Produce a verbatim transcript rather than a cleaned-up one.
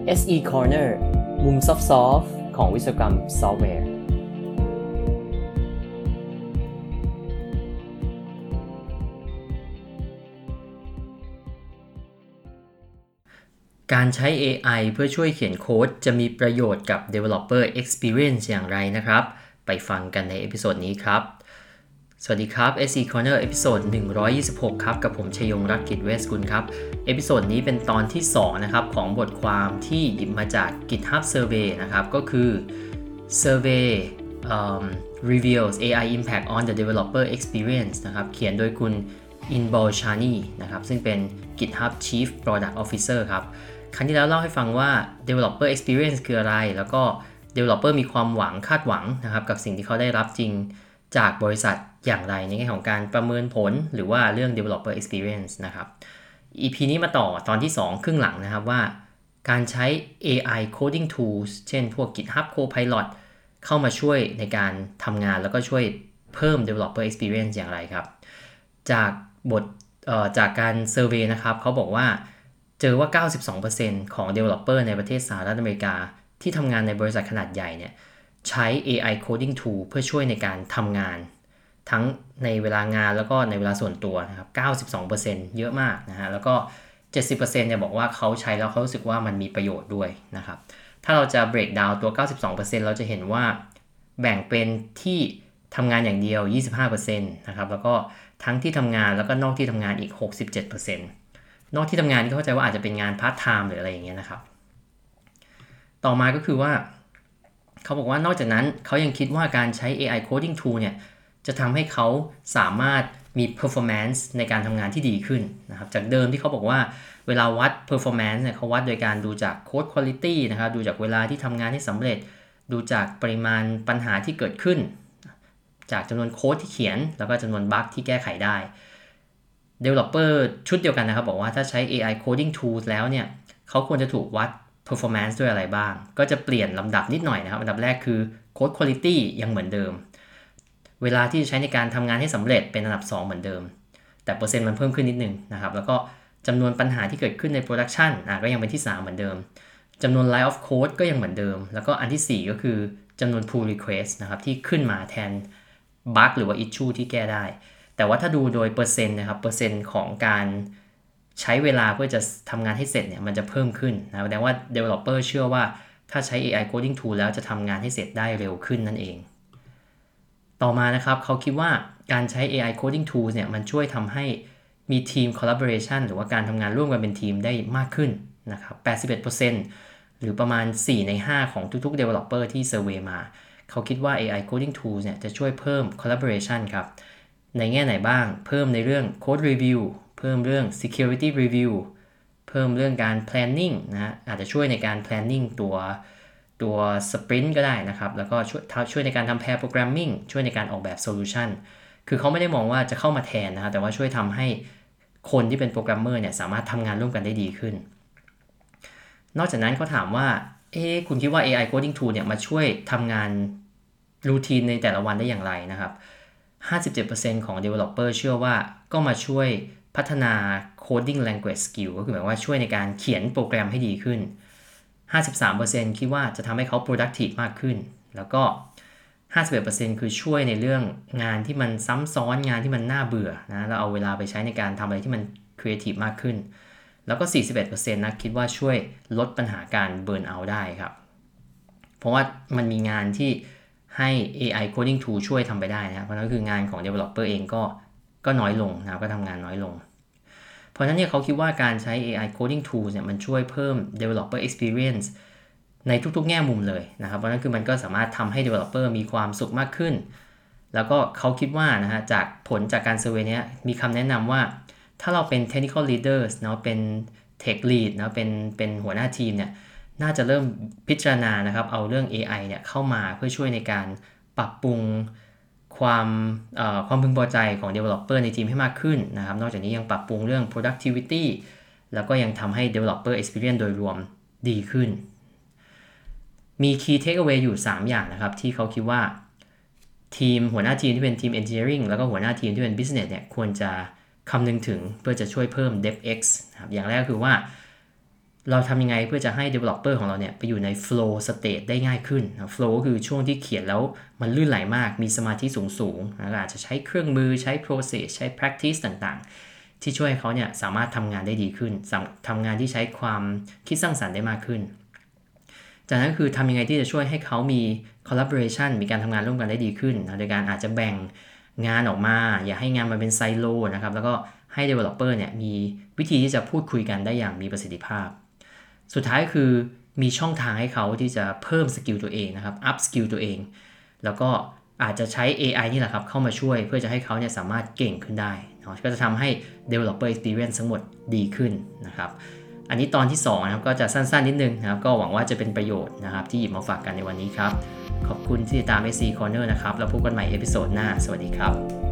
เอส อี Corner มุมซอฟต์ๆของวิศวกรรมซอฟต์แวร์การใช้ เอ ไอ เพื่อช่วยเขียนโค้ดจะมีประโยชน์กับ Developer Experience อย่างไรนะครับไปฟังกันในเอพิโซดนี้ครับสวัสดีครับ เอส อี Corner เอพิโซดหนึ่งร้อยยี่สิบหกครับกับผมชยงรัตน์กิจเวชกุลครับเอพิโซดนี้เป็นตอนที่สองนะครับของบทความที่หยิบมาจาก GitHub Survey นะครับก็คือ Survey um, reveals เอ ไอ impact on the developer experience นะครับเขียนโดยคุณ Inbal Shani นะครับซึ่งเป็น GitHub Chief Product Officer ครับครั้งที่แล้วเล่าให้ฟังว่า developer experience คืออะไรแล้วก็ developer มีความหวังคาดหวังนะครับกับสิ่งที่เขาได้รับจริงจากบริษัทอย่างไรในแง่ของการประเมินผลหรือว่าเรื่อง developer experience นะครับ อี พี นี้มาต่อตอนที่สองครึ่งหลังนะครับว่าการใช้ เอ ไอ coding tools เช่นพวก GitHub Copilot เข้ามาช่วยในการทำงานแล้วก็ช่วยเพิ่ม developer experience อย่างไรครับจากบทเอ่อจากการเซอร์เวย์นะครับเขาบอกว่าเจอว่า เก้าสิบสองเปอร์เซ็นต์ ของ developer ในประเทศสหรัฐอเมริกาที่ทำงานในบริษัทขนาดใหญ่เนี่ยใช้ เอ ไอ coding tool เพื่อช่วยในการทำงานทั้งในเวลางานแล้วก็ในเวลาส่วนตัวนะครับ เก้าสิบสองเปอร์เซ็นต์ เยอะมากนะฮะแล้วก็ เจ็ดสิบเปอร์เซ็นต์ เนี่ยบอกว่าเขาใช้แล้วเขารู้สึกว่ามันมีประโยชน์ด้วยนะครับถ้าเราจะ break down ตัว เก้าสิบสองเปอร์เซ็นต์ เราจะเห็นว่าแบ่งเป็นที่ทำงานอย่างเดียว ยี่สิบห้าเปอร์เซ็นต์ นะครับแล้วก็ทั้งที่ทำงานแล้วก็นอกที่ทำงานอีก หกสิบเจ็ดเปอร์เซ็นต์ นอกที่ทำงานที่เข้าใจว่าอาจจะเป็นงานพาร์ทไทม์หรืออะไรอย่างเงี้ยนะครับต่อมาก็คือว่าเขาบอกว่านอกจากนั้นเขายังคิดว่าการใช้ เอ ไอ coding tool เนี่ยจะทำให้เขาสามารถมี performance ในการทำงานที่ดีขึ้นนะครับจากเดิมที่เขาบอกว่าเวลาวัด performance เนี่ยเขาวัดโดยการดูจาก code quality นะครับดูจากเวลาที่ทำงานให้สำเร็จดูจากปริมาณปัญหาที่เกิดขึ้นจากจำนวนโค้ดที่เขียนแล้วก็จำนวนบั๊กที่แก้ไขได้ developer ชุดเดียวกันนะครับบอกว่าถ้าใช้ เอ ไอ coding tools แล้วเนี่ยเขาควรจะถูกวัด performance ด้วยอะไรบ้างก็จะเปลี่ยนลำดับนิดหน่อยนะครับอันดับแรกคือ code quality ยังเหมือนเดิมเวลาที่ใช้ในการทำงานให้สำเร็จเป็นอันดับสองเหมือนเดิมแต่เปอร์เซ็นต์มันเพิ่มขึ้นนิดนึงนะครับแล้วก็จำนวนปัญหาที่เกิดขึ้นใน production อ่ะก็ยังเป็นที่สามเหมือนเดิมจำนวน line of code ก็ยังเหมือนเดิมแล้วก็อันที่สี่ก็คือจำนวน pull request นะครับที่ขึ้นมาแทน bug หรือว่า issue ที่แก้ได้แต่ว่าถ้าดูโดยเปอร์เซ็นต์นะครับเปอร์เซ็นต์ของการใช้เวลาเพื่อจะทำงานให้เสร็จเนี่ยมันจะเพิ่มขึ้นนะแสดงว่า developer เชื่อว่าถ้าใช้ เอ ไอ coding tool แล้วจะทำงานให้เสร็จได้เร็วขึ้นนั่นเองต่อมานะครับเขาคิดว่าการใช้ เอ ไอ coding tools เนี่ยมันช่วยทำให้มีทีม collaboration หรือว่าการทำงานร่วมกันเป็นทีมได้มากขึ้นนะครับ แปดสิบเอ็ดเปอร์เซ็นต์ หรือประมาณสี่ในห้าของทุกๆ developer ที่ survey มาเขาคิดว่า เอ ไอ coding tools เนี่ยจะช่วยเพิ่ม collaboration ครับในแง่ไหนบ้างเพิ่มในเรื่อง code review เพิ่มเรื่อง security review เพิ่มเรื่องการ planning นะอาจจะช่วยในการ planning ตัวตัว sprint ก็ได้นะครับแล้วก็ช่วยช่วยในการทำ pair programming ช่วยในการออกแบบ solution คือเขาไม่ได้มองว่าจะเข้ามาแทนนะครับแต่ว่าช่วยทำให้คนที่เป็นโปรแกรมเมอร์เนี่ยสามารถทำงานร่วมกันได้ดีขึ้นนอกจากนั้นเขาถามว่าเอ๊ะคุณคิดว่า เอ ไอ coding tool เนี่ยมาช่วยทำงานรูทีนในแต่ละวันได้อย่างไรนะครับห้าสิบเจ็ดเปอร์เซ็นต์ ของ developer เชื่อว่าก็มาช่วยพัฒนา coding language skill ก็คือหมายว่าช่วยในการเขียนโปรแกรมให้ดีขึ้น ห้าสิบสามเปอร์เซ็นต์ คิดว่าจะทำให้เขา productive มากขึ้นแล้วก็ ห้าสิบเอ็ดเปอร์เซ็นต์ คือช่วยในเรื่องงานที่มันซ้ำซ้อนงานที่มันน่าเบื่อนะแล้วเอาเวลาไปใช้ในการทำอะไรที่มัน creative มากขึ้นแล้วก็ สี่สิบเอ็ดเปอร์เซ็นต์ นะคิดว่าช่วยลดปัญหาการ burn out ได้ครับเพราะว่ามันมีงานที่ให้ เอ ไอ coding tool ช่วยทำไปได้นะครับเพราะนั้นคืองานของ developer เองก็ก็น้อยลงนะครับก็ทำงานน้อยลงเพราะฉะนั้นเนี่ยเขาคิดว่าการใช้ เอ ไอ coding tools เนี่ยมันช่วยเพิ่ม developer experience ในทุกๆแง่มุมเลยนะครับเพราะฉะนั้นคือมันก็สามารถทำให้ developer มีความสุขมากขึ้นแล้วก็เขาคิดว่านะฮะจากผลจากการเซอร์เวย์นี้มีคำแนะนำว่าถ้าเราเป็น technical leaders เนาะเป็น tech lead เนาะเป็นเป็นหัวหน้าทีมเนี่ยน่าจะเริ่มพิจารณานะครับเอาเรื่อง เอ ไอ เนี่ยเข้ามาเพื่อช่วยในการปรับปรุงความเอ่อความพึงพอใจของ developer ในทีมให้มากขึ้นนะครับนอกจากนี้ยังปรับปรุงเรื่อง productivity แล้วก็ยังทำให้ developer experience โดยรวมดีขึ้นมี key takeaway อยู่สามอย่างนะครับที่เขาคิดว่าทีมหัวหน้าทีมที่เป็นทีม engineering แล้วก็หัวหน้าทีมที่เป็น business เนี่ยควรจะคำนึงถึงเพื่อจะช่วยเพิ่ม DevX นะครับอย่างแรกคือว่าเราทำยังไงเพื่อจะให้ developer ของเราเนี่ยไปอยู่ใน flow state ได้ง่ายขึ้น flow ก็คือช่วงที่เขียนแล้วมันลื่นไหลมากมีสมาธิสูงๆอาจจะใช้เครื่องมือใช้ process ใช้ practice ต่างๆที่ช่วยให้เขาเนี่ยสามารถทำงานได้ดีขึ้นทำงานที่ใช้ความคิดสร้างสรรค์ได้มากขึ้นจากนั้นคือทำยังไงที่จะช่วยให้เขามี collaboration มีการทำงานร่วมกันได้ดีขึ้นโดยการอาจจะแบ่งงานออกมาอย่าให้งานมันเป็นไซโลนะครับแล้วก็ให้ developer เนี่ยมีวิธีที่จะพูดคุยกันได้อย่างมีประสิทธิภาพสุดท้ายคือมีช่องทางให้เขาที่จะเพิ่มสกิลตัวเองนะครับ up skill ตัวเองแล้วก็อาจจะใช้ เอ ไอ นี่แหละครับเข้ามาช่วยเพื่อจะให้เขาเนี่ยสามารถเก่งขึ้นได้นะก็จะทำให้ developer experience ทั้งหมดดีขึ้นนะครับอันนี้ตอนที่สองนะครับก็จะสั้นๆนิดนึงนะครับก็หวังว่าจะเป็นประโยชน์นะครับที่หยิบมาฝากกันในวันนี้ครับขอบคุณที่ติดตาม เอส ซี Corner นะครับแล้วพบกันใหม่เอพิโซดหน้าสวัสดีครับ